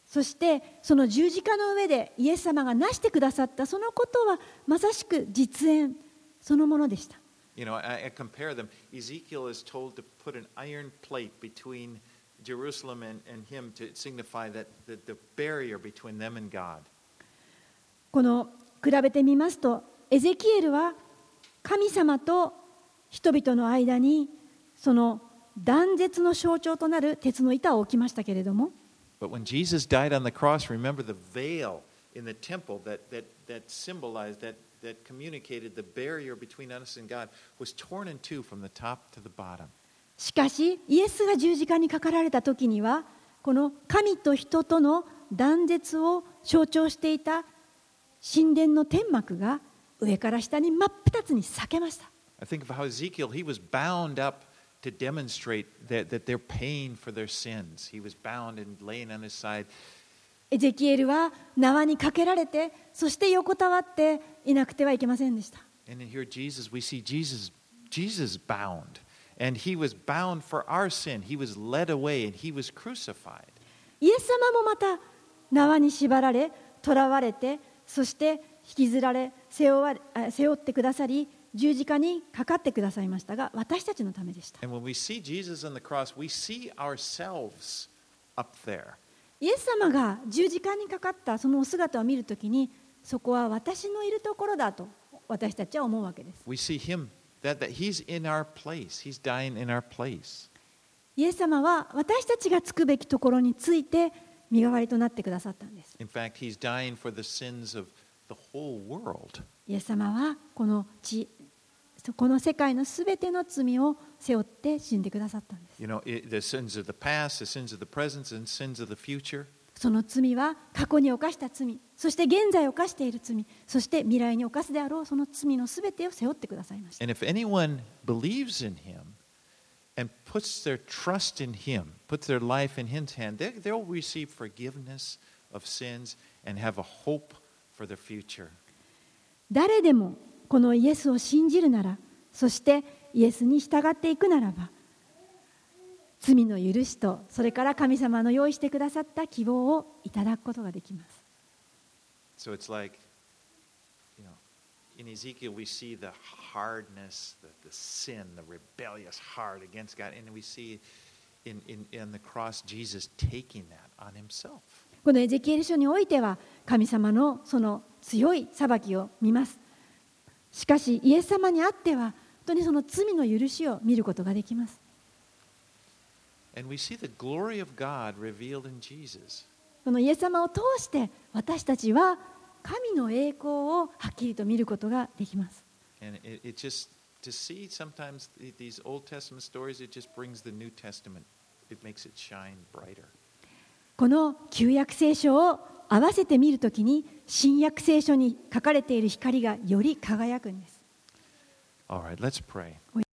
そしてその十字架の上でイエス様がなしてくださったそのことはまさしく実演そのものでした。 You know, I, I compare them. Ezekiel is told to put an iron plate between Jerusalem and, and him to signify that the, the barrier between them and God. この比べてみますと、エゼキエルは神様と人々の間にその断絶の象徴となる鉄の板を置きましたけれども、 But when Jesus died on the cross, remember the veil in the temple that, that, that symbolized, that, that communicated the barrier between us and God was torn in two from the top to the bottom. しかしイエスが十字架にかかられた時には、この神と人との断絶を象徴していた神殿の天幕が上から下に真っ二つに裂けました。 I think of how Ezekiel, he was bound up to demonstrate that, that they're paying for their sins. He was bound and laying on his side. エゼキエルは縄にかけられて、そして横たわっていなくてはいけませんでした。 And here Jesus, we see Jesus, Jesus bound. And he was bound for our sin. He was led away and he was crucified. イエス様もまた縄に縛られ、囚われて、そして引きずられ、背負われ、背負ってくださり、十字架にかかってくださいましたが、私たちのためでした。 And when we see Jesus on the cross, we see ourselves up there. イエス様が十字架にかかったそのお姿を見るときに、そこは私のいるところだと私たちは思うわけです。 We see him, that, that he's in our place. He's dying in our place. イエス様は私たちがつくべきところについて身代わりとなってくださったんです。 In fact, he's dying for the sins of the whole world. イエス様はこの地、この世界のすべての罪を背負って死んでくださったんです。 You know, it, the sins of the past, the sins of the present, and sins of the future. その罪は過去に犯した罪、そして現在犯している罪、そして未来に犯すであろうその罪のすべてを背負ってくださいました。 And if anyone believes in him and puts their trust in him, puts their life in his hand, they, they'll receive forgiveness of sins and have a hope for the future. 誰でもこのイエスを信じるなら、そしてイエスに従っていくならば、罪の許しと、それから神様の用意してくださった希望をいただくことができます。 So it's like, you know, in Ezekiel we see the hardness, the, the sin, the rebellious heart against God, and we see in, in, in the cross Jesus taking that on himself. このエゼキエル書においては、神様のその強い裁きを見ます。しかし、イエス様にあっては、本当にその罪の許しを見ることができます。 And we see the glory of God revealed in Jesus. このイエス様を通して私たちは神の栄光をはっきりと見ることができます。 And it, it just, to see sometimes these Old Testament stories, it just brings the New Testament, it makes it shine brighter. この旧約聖書を合わせて見るときに、新約聖書に書かれている光がより輝くんです。 All right, let's pray.